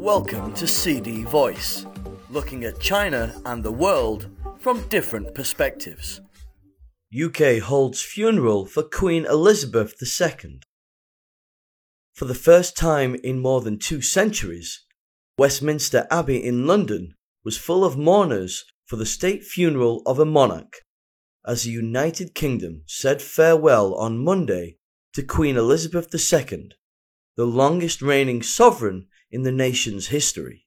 Welcome to CD Voice, looking at China and the world from different perspectives. UK holds funeral for Queen Elizabeth II. For the first time in more than 2 centuries, Westminster Abbey in London was full of mourners for the state funeral of a monarch, as the United Kingdom said farewell on Monday to Queen Elizabeth II, the longest reigning sovereign in the nation's history.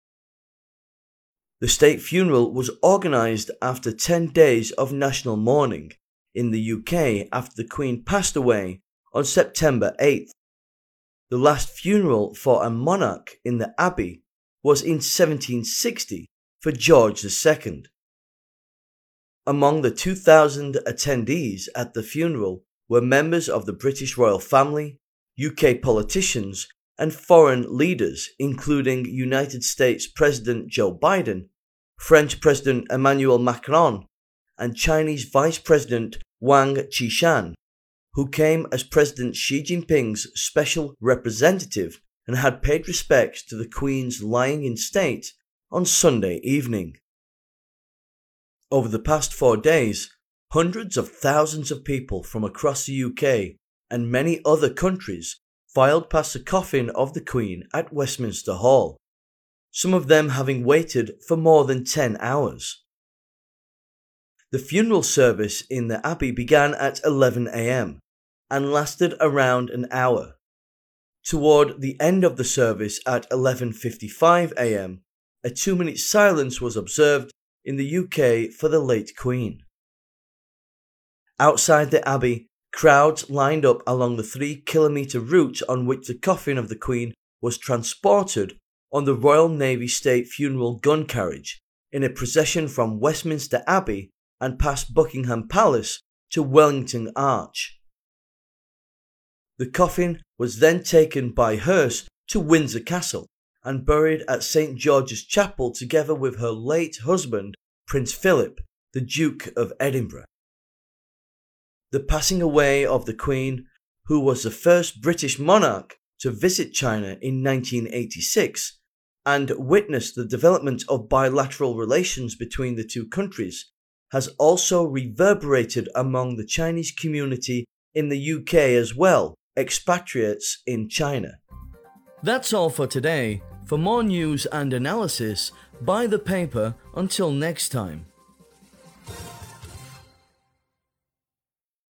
The state funeral was organised after 10 days of national mourning in the UK after the Queen passed away on September 8th. The last funeral for a monarch in the Abbey was in 1760 for George II. Among the 2,000 attendees at the funeral were members of the British royal family, UK politicians, and foreign leaders including United States President Joe Biden, French President Emmanuel Macron, and Chinese Vice President Wang Qishan, who came as President Xi Jinping's special representative and had paid respects to the Queen's lying in state on Sunday evening. Over the past 4 days, hundreds of thousands of people from across the UK and many other countries filed past the coffin of the Queen at Westminster Hall, some of them having waited for more than 10 hours. The funeral service in the Abbey began at 11 a.m. and lasted around an hour. Toward the end of the service at 11:55 a.m, a 2-minute silence was observed in the UK for the late Queen. Outside the Abbey, crowds lined up along the 3-kilometre route on which the coffin of the Queen was transported on the Royal Navy State Funeral gun carriage in a procession from Westminster Abbey and past Buckingham Palace to Wellington Arch. The coffin was then taken by hearse to Windsor Castle and buried at St George's Chapel together with her late husband, Prince Philip, the Duke of Edinburgh. The passing away of the Queen, who was the first British monarch to visit China in 1986 and witnessed the development of bilateral relations between the two countries, has also reverberated among the Chinese community in the UK as well, expatriates in China. That's all for today. For more news and analysis, buy the paper. Until next time.